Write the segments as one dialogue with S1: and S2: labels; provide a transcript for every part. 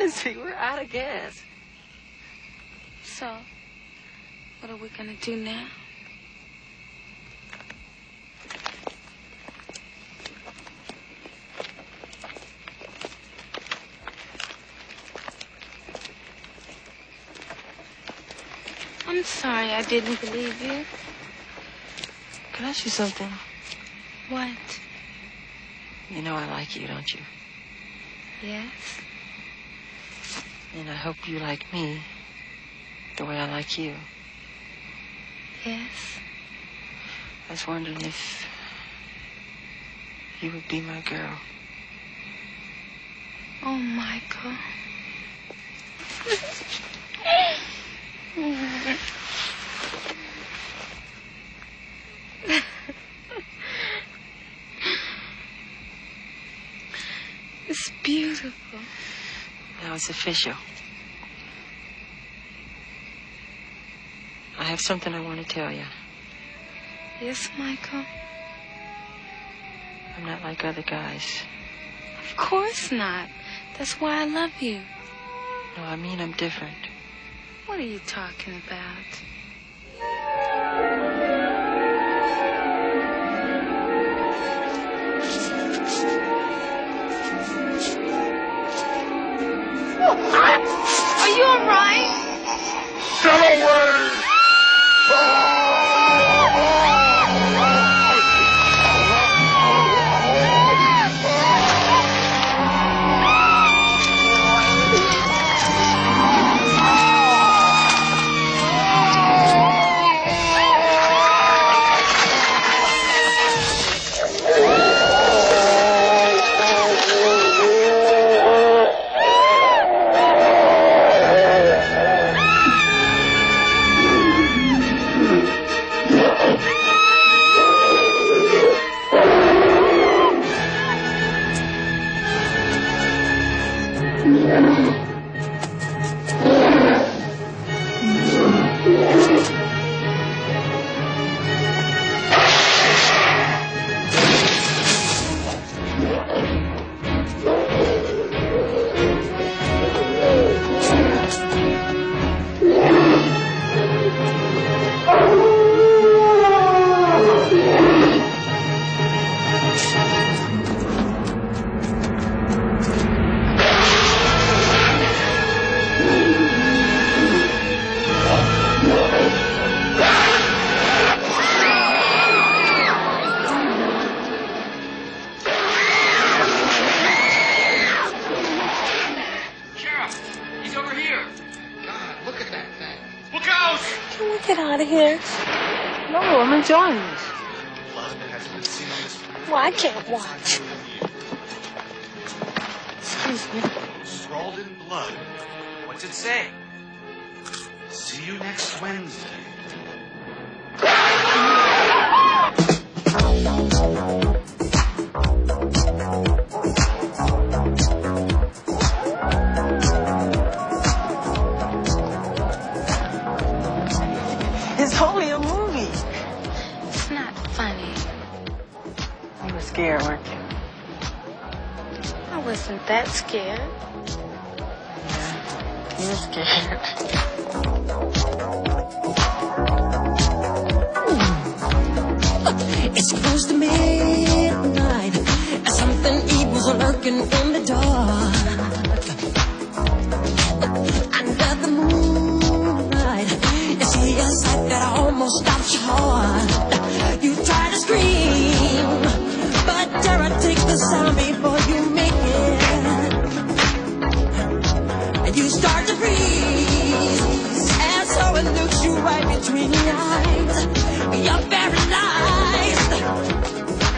S1: Lindsay, we're out of gas.
S2: So, what are we gonna do now? I'm sorry I didn't believe you.
S1: Can I ask you something?
S2: What?
S1: You know I like you, don't you?
S2: Yes?
S1: And I hope you like me the way I like you.
S2: Yes?
S1: I was wondering if you would be my girl.
S2: Oh, Michael. It's beautiful.
S1: Now it's official. I have something I want to tell you.
S2: Yes, Michael?
S1: I'm not like other guys.
S2: Of course not. That's why I love you.
S1: No, I mean I'm different.
S2: What are you talking about? Are you all right?
S3: Get away!
S2: Get out of here.
S1: No, I'm enjoying this.
S2: Well, I can't watch.
S1: Excuse me.
S4: Scrawled in blood. What's it say? See you next Wednesday.
S1: It's only a movie.
S2: It's not funny.
S1: You were scared, weren't you?
S2: I wasn't that scared.
S1: Yeah, you were scared.
S5: It's close to midnight, and something evil's lurking in the dark. Under the moonlight, you see a sight that almost stops your heart. You try to scream, but terror takes the sound before you make it. And you start to freeze, and so it looks you right between the eyes. You're paralyzed.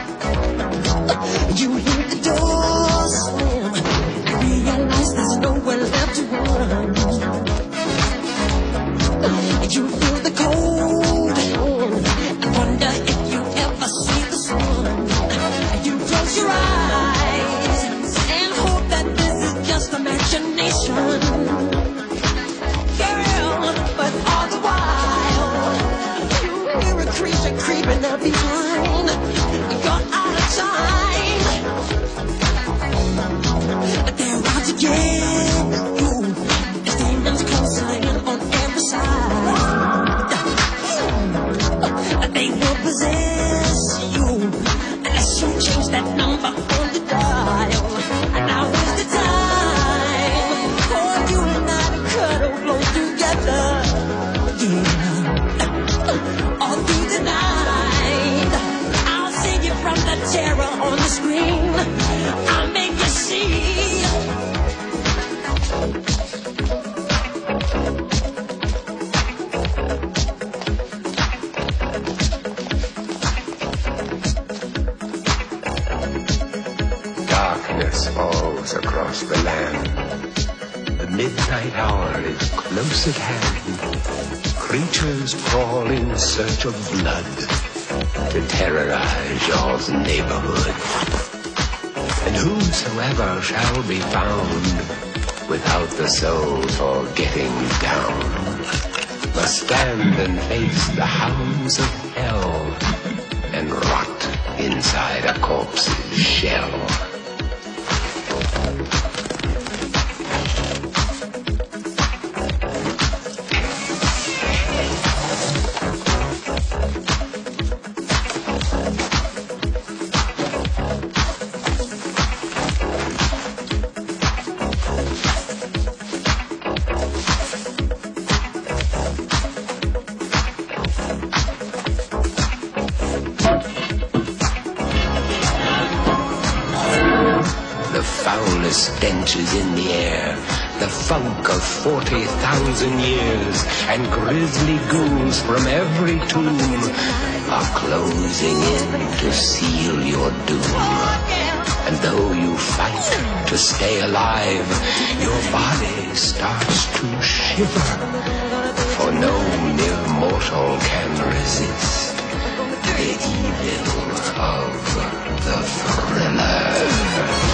S3: darkness falls across the land. The midnight hour is close at hand. Creatures crawl in search of blood to terrorize y'all's neighborhood. And whosoever shall be found without the soul for getting down must stand and face the hounds of hell and rot inside a corpse's shell. Stench is in the air, the funk of 40,000 years, and grisly ghouls from every tomb are closing in to seal your doom. And though you fight to stay alive, your body starts to shiver, for no mere mortal can resist the evil of the Thriller.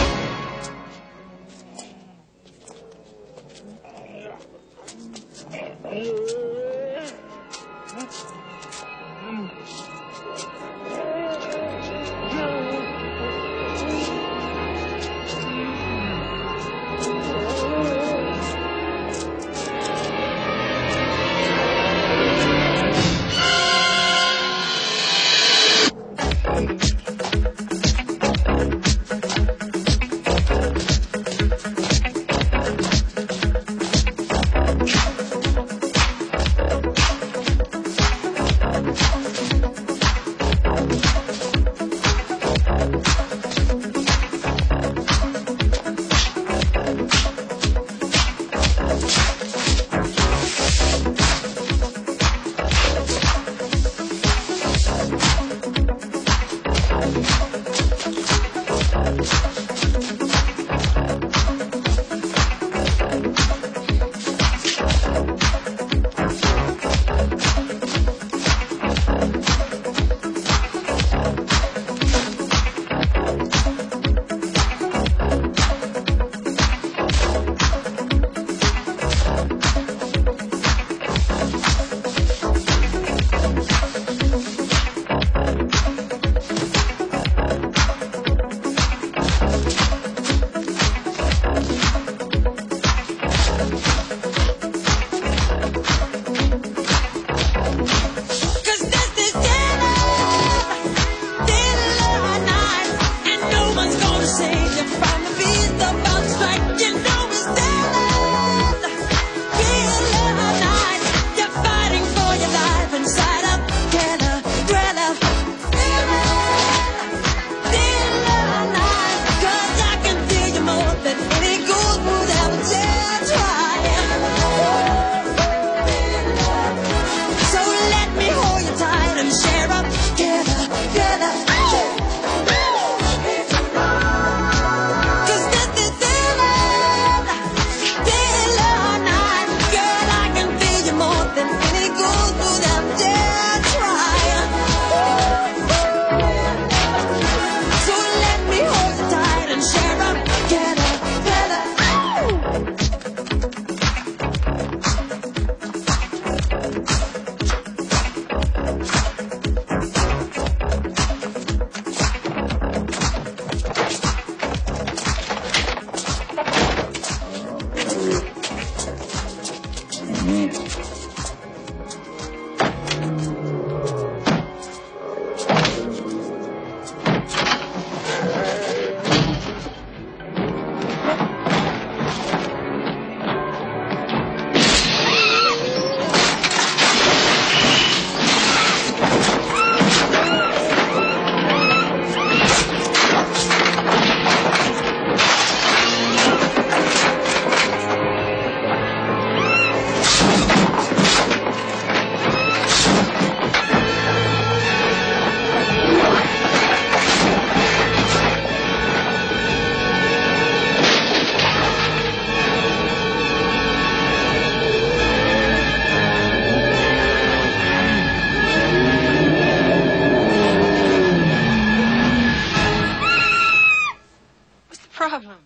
S1: problem?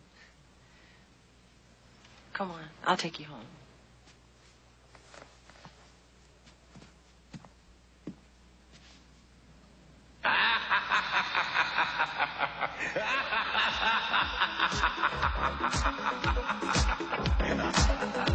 S1: Come on, I'll take you home.
S3: Ha ha ha ha ha!